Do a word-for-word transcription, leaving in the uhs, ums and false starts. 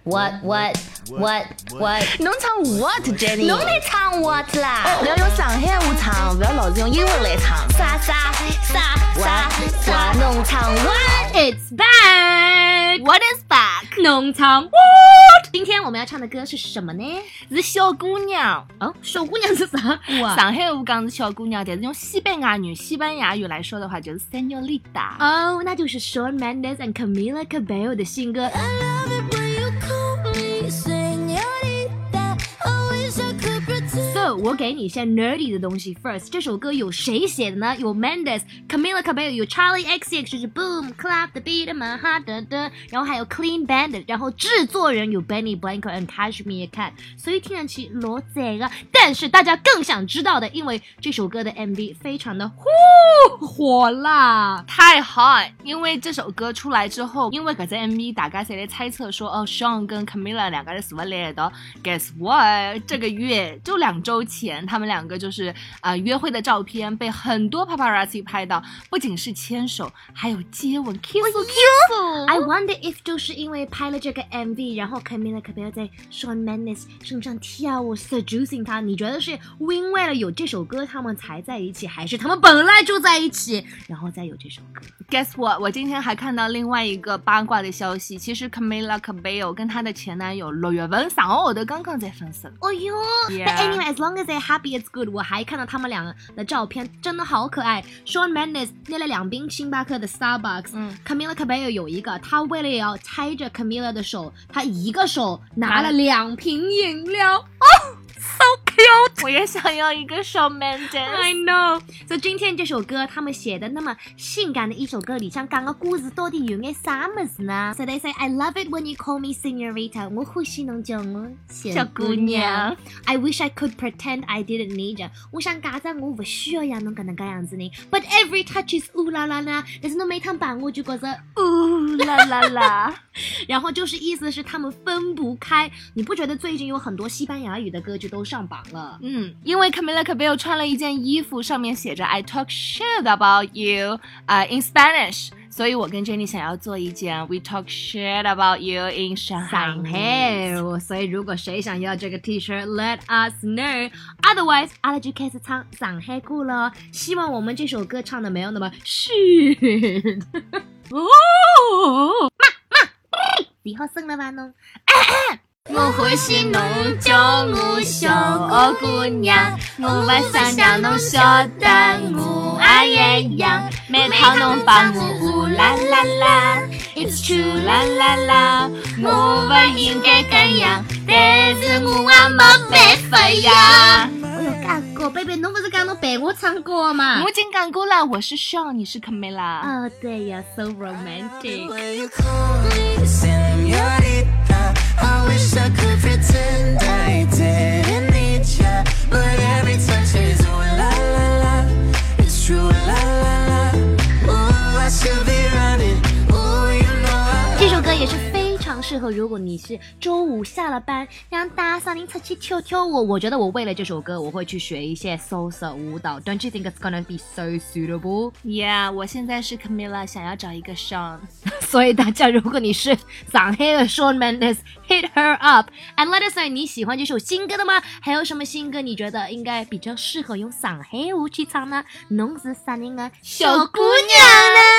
What what what what？ 侬唱 what Jenny？ 侬来唱 what 啦？ 不要用上海话唱，不要老是用英文来唱。 啥啥啥啥啥？侬唱 what？It's back。What is back？ 侬唱 what？ 今天我们要唱的歌是什么呢？ 是小姑娘。 哦，小姑娘是啥歌啊？ 上海话讲是小姑娘，但是用西班牙语西班牙语来说的话就是 Señorita。 哦，那就是 Shawn Mendes and Camila Cabello 的新歌。So 我给你一些 nerdy 的东西 first。这首歌有谁写的呢？有 Mendes、Camila Cabello， 有 Charlie X C X， 就是 Boom Clap the Beat My Heart 等等，然后还有 Clean Bandit， 然后制作人有 Benny Blanco and Kashmir Cat， 所以听上去罗贼了。但是大家更想知道的，因为这首歌的 M V 非常的呼火辣， 太 hot。因为这首歌出来之后，因为搿只 M V 大家侪来猜测说，哦 Shawn 跟 Camila 两个人是不是来一道 ？Guess what？ 这个月就两周前，他们两个就是呃约会的照片被很多 paparazzi 拍到，不仅是牵手，还有接吻 kiss kiss。 I wonder if 就是因为拍了这个 M V， 然后 Camila Cabello 在 Shawn Mendes 身上跳舞 seducing 他，你觉得是因为了有这首歌他们才在一起，还是他们本来就在一起然后再有这首歌？ Guess what？ 我今天还看到另外一个八卦的消息，其实 Camila Cabello 跟她的前男友六月份上个号头刚刚在分手。 哦哟 Yeah. But anyway, as long as they're happy, it's good. 我还看到他们两个的照片，真的好可爱。Shawn Mendes 捏了两瓶星巴克的 Starbucks，嗯 Camila Cabello 有一个，他为了要猜着 Camila 的手，他一个手拿了两瓶饮料。哦 So cute！ 我也想要一个 Shawn Mendes。I know。所以今天这首歌他们写的那么性感的一首歌里，想讲个故事到底有眼啥么子呢 ？So they say I love it when you call me Señorita。我欢喜侬叫我小姑娘。I wish I could pretend I didn't need you。我想假装我不需要让侬搿能介样子呢。But every touch is ooh la la la。但是侬每趟碰我就觉着 ooh la la la。 然后就是意思是他们分不开。你不觉得最近有很多西班牙语的歌就都上榜了？ 嗯，因为 Camila Cabello 穿了一件衣服，上面写着 I talk shit about you， 呃、uh, in Spanish， 所以我跟 Jenny 想要做一件 We talk shit about you in Shanghai。 所以如果谁想要这个 T-shirt，let us know。Otherwise， 阿拉就开始唱上海歌了。希望我们这首歌唱的没有那么 shit。哦，妈妈，你好生了吧侬？我欢喜侬叫我小姑娘，我不想让侬晓得我也一样。 每趟侬帮我呜啦啦啦 ，It's true 啦啦啦，我不应该这样，但是我也没办法呀。 我有讲过 ，baby， 侬不是讲侬陪我唱歌吗？ 我已经讲过了，我是 Shawn， 你是 Camila。 哦，对呀 ，so romantic。 I wish I could pretend I didn't need you, but every touch is ooh la la la. It's true la la la. Ooh, I should be running. Ooh, you know I. 这首歌也是非常适合，如果你是周五下了班，让大嗓音出去跳跳舞。我觉得我为了这首歌，我会去学一些 salsa 舞蹈。Don't you think it's gonna be so suitable? Yeah， 我现在是 Camila， 想要找一个 Shawn。 所以大家，如果你是上海的 Shawn Mendes，hit her up and let us know 你喜欢这首新歌的吗？还有什么新歌你觉得应该比较适合用上海话去唱呢？侬是啥人啊？小姑娘呢？